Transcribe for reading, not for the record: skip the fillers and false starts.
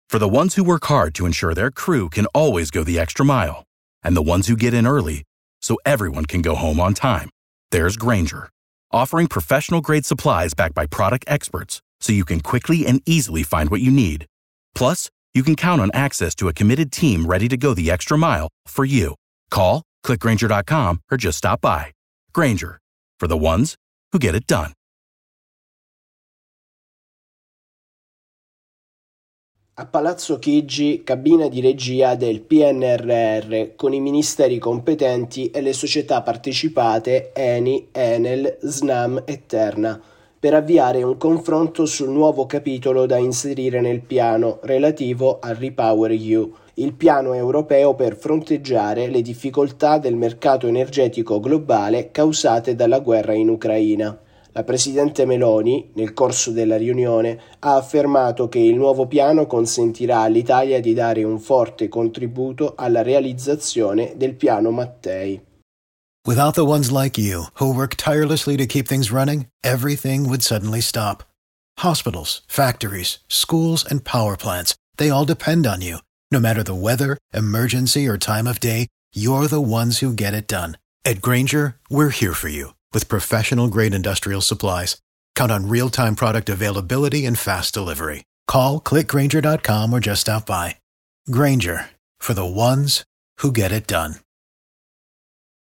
For the ones who work hard to ensure their crew can always go the extra mile, and the ones who get in early so everyone can go home on time, there's Grainger, offering professional-grade supplies backed by product experts so you can quickly and easily find what you need. Plus, you can count on access to a committed team ready to go the extra mile for you. Call, click Grainger.com, or just stop by. Grainger, for the ones who get it done. A Palazzo Chigi, cabina di regia del PNRR con i ministeri competenti e le società partecipate ENI, Enel, Snam e Terna, per avviare un confronto sul nuovo capitolo da inserire nel piano relativo al REPowerEU, il piano europeo per fronteggiare le difficoltà del mercato energetico globale causate dalla guerra in Ucraina. La Presidente Meloni, nel corso della riunione, ha affermato che il nuovo piano consentirà all'Italia di dare un forte contributo alla realizzazione del piano Mattei. Without the ones like you, who work tirelessly to keep things running, everything would suddenly stop. Hospitals, factories, schools, and power plants, they all depend on you. No matter the weather, emergency, or time of day, you're the ones who get it done. At Grainger, we're here for you with professional-grade industrial supplies. Count on real-time product availability and fast delivery. Call, click Grainger.com, or just stop by. Grainger, for the ones who get it done.